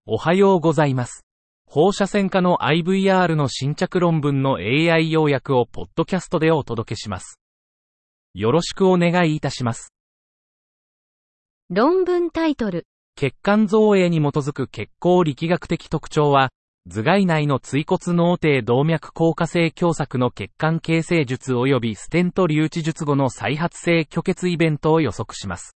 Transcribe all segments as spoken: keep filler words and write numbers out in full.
おはようございます。放射線科の アイブイアール の新着論文の エーアイ 要約をポッドキャストでお届けします。よろしくお願いいたします。 論文タイトル。 血管造影に基づく血行力学的特徴は、頭蓋内の椎骨脳底動脈硬化性狭窄の血管形成術及びステント留置術後の再発性虚血イベントを予測します。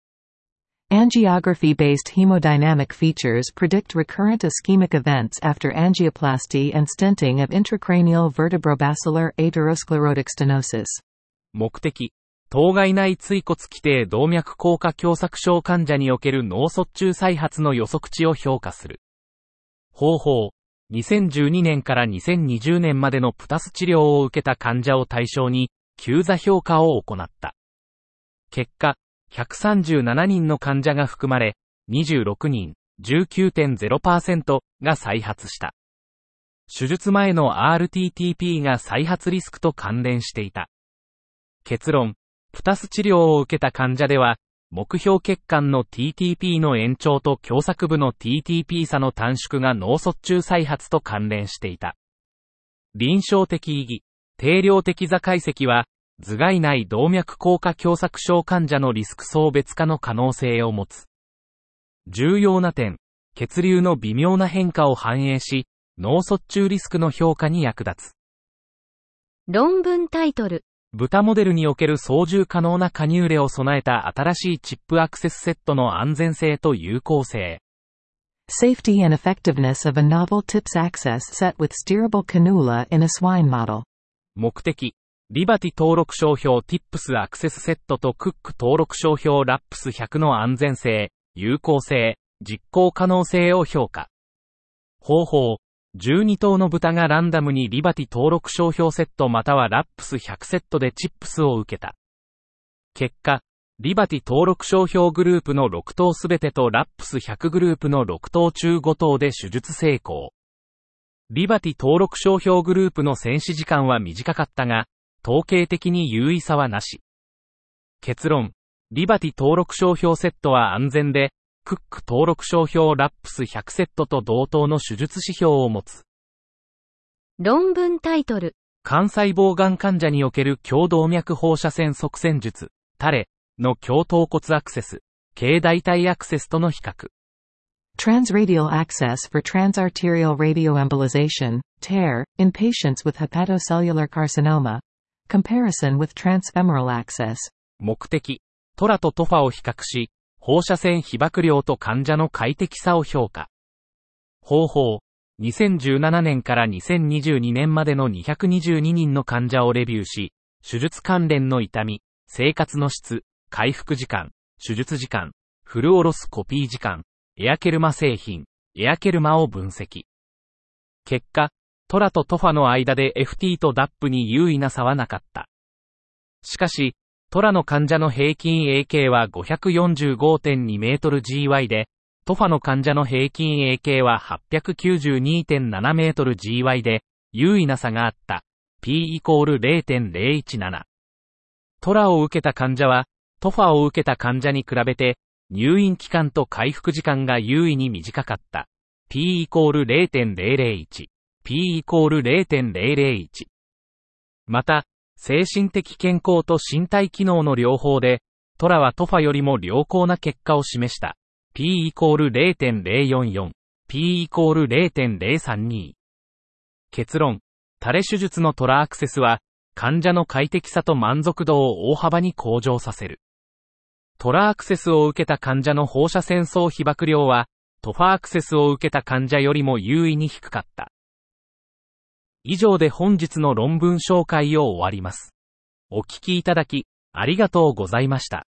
Angiography-based hemodynamic features predict recurrent ischemic events after angioplasty and stenting of intracranial vertebrobasilar atherosclerotic stenosis. 目的、頭蓋内椎骨基底動脈硬化狭窄症患者における脳卒中再発の予測値を評価する。方法、にせんじゅうにねんからにせんにじゅうねんまでのプタス治療を受けた患者を対象に、急座評価を行った。結果、ひゃくさんじゅうななにんの患者が含まれ、にじゅうろくにん、じゅうきゅうてんゼロパーセント が再発した。手術前の アールティーティーピー が再発リスクと関連していた。結論、プタス治療を受けた患者では、目標血管の ティーティーピー の延長と狭窄部の ティーティーピー 差の短縮が脳卒中再発と関連していた。臨床的意義、定量的座解析は、頭蓋内動脈硬化狭窄症患者のリスク層別化の可能性を持つ。重要な点、血流の微妙な変化を反映し、脳卒中リスクの評価に役立つ。 論文タイトル。 豚モデルにおける操縦可能なカニューレを備えた新しいチップアクセスセットの安全性と有効性。 Safety and effectiveness of a novel TIPS access set with steerable cannula in a swine model. 目的、リバティ登録商標 ティップス アクセスセットとクック登録商標 ラップスひゃく の安全性、有効性、実行可能性を評価。方法、じゅうにとうの豚がランダムにリバティ登録商標セットまたは ラップスひゃく セットでチップスを受けた。結果、リバティ登録商標グループのろくとうすべてと ラップスひゃく グループのろくとう中ごとうで手術成功。リバティ登録商標グループの戦死時間は短かったが、統計的に有意差はなし。結論、リバティ登録商標セットは安全で、クック登録商標 ラップスひゃく セットと同等の手術指標を持つ。 論文タイトル。 肝細胞がん患者における強動脈放射線塞栓術、タレの強頭骨アクセス、軽大腿アクセスとの比較。 Transradial access for transarterial radioembolization, T A R, in patients with hepatocellular carcinoma. Comparison with transfemoral access. 目的、トラとトファを比較し、放射線被曝量と患者の快適さを評価。方法、にせんじゅうななねんからにせんにじゅうにねんまでのにひゃくにじゅうににんの患者をレビューし、手術関連の痛み、生活の質、回復時間、手術時間、フルオロスコピー時間、エアケルマ製品、エアケルマを分析。結果、トラとトファの間で エフティー と ダップ に優位な差はなかった。しかし、トラの患者の平均 エーケー は ごひゃくよんじゅうごてんにメートルジーワイ で、トファの患者の平均 エーケー は はっぴゃくきゅうじゅうにてんななメートルジーワイ で、優位な差があった。P イコール ゼロてんゼロいちなな。トラを受けた患者は、トファを受けた患者に比べて、入院期間と回復時間が優位に短かった。P イコール ゼロてんゼロゼロいち。P イコール ゼロてんゼロゼロいち。また、精神的健康と身体機能の両方で、トラはトファよりも良好な結果を示した。P イコール ゼロてんゼロよんよん。P イコール ゼロてんゼロさんに。結論、タレ手術のトラアクセスは、患者の快適さと満足度を大幅に向上させる。トラアクセスを受けた患者の放射線層被曝量は、トファアクセスを受けた患者よりも優位に低かった。以上で本日の論文紹介を終わります。お聞きいただき、ありがとうございました。